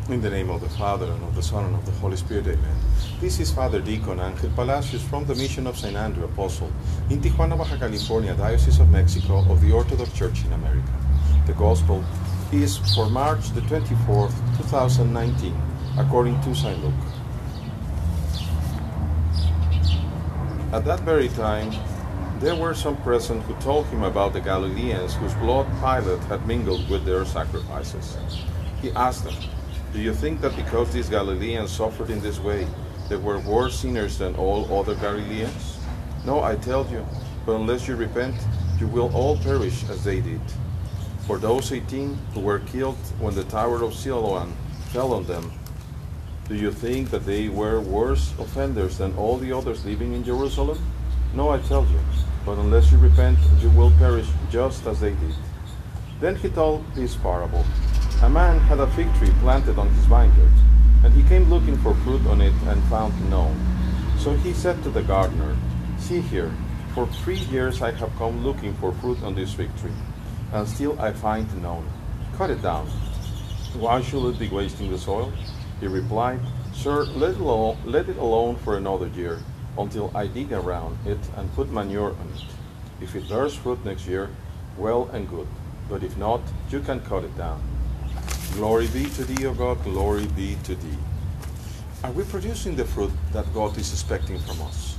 In the name of the Father, and of the Son, and of the Holy Spirit, amen. This is Father Deacon Angel Palacios from the Mission of St. Andrew Apostle in Tijuana, Baja California, Diocese of Mexico of the Orthodox Church in America. The Gospel is for March the 24th, 2019, according to St. Luke. At that very time, there were some present who told him about the Galileans whose blood Pilate had mingled with their sacrifices. He asked them, "Do you think that because these Galileans suffered in this way, they were worse sinners than all other Galileans? No, I tell you, but unless you repent, you will all perish as they did. For those 18 who were killed when the Tower of Siloam fell on them, do you think that they were worse offenders than all the others living in Jerusalem? No, I tell you, but unless you repent, you will perish just as they did." Then he told this parable. A man had a fig tree planted on his vineyard, and he came looking for fruit on it and found none. So he said to the gardener, "See here, for 3 years I have come looking for fruit on this fig tree, and still I find none. Cut it down. Why should it be wasting the soil?" He replied, "Sir, let it alone for another year, until I dig around it and put manure on it. If it bears fruit next year, well and good, but if not, you can cut it down." Glory be to thee, O God, glory be to thee. Are we producing the fruit that God is expecting from us?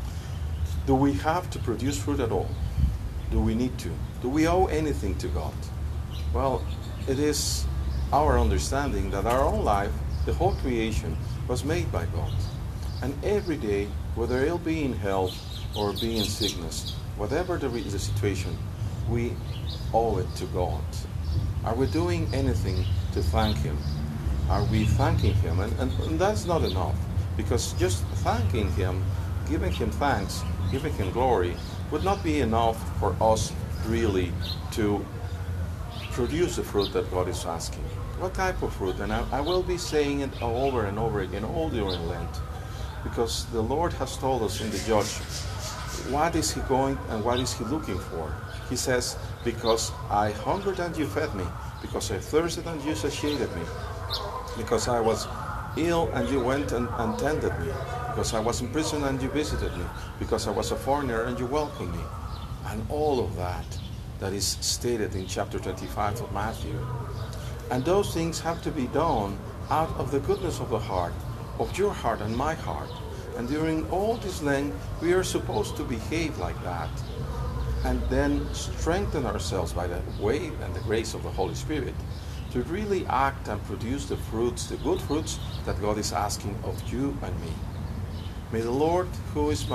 Do we have to produce fruit at all? Do we need to? Do we owe anything to God? Well, it is our understanding that our own life, the whole creation, was made by God. And every day, whether it'll be in health or be in sickness, whatever the situation, we owe it to God. Are we doing anything to thank Him? Are we thanking Him? And that's not enough, because just thanking Him, giving Him thanks, giving Him glory, would not be enough for us really to produce the fruit that God is asking. What type of fruit? And I will be saying it over and over again all during Lent, because the Lord has told us in the Judge, what is He going and what is He looking for? He says, "Because I hungered and you fed me, because I thirsted and you satiated me, because I was ill and you went and tended me, because I was in prison and you visited me, because I was a foreigner and you welcomed me." And all of that is stated in chapter 25 of Matthew. And those things have to be done out of the goodness of the heart, of your heart and my heart. And during all this Lent, we are supposed to behave like that, and then strengthen ourselves by the way and the grace of the Holy Spirit to really act and produce the fruits, the good fruits that God is asking of you and me. May the Lord, who is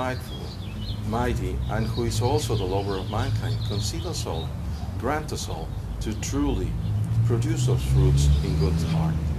mighty, and who is also the lover of mankind, concede us all, grant us all to truly produce those fruits in good heart.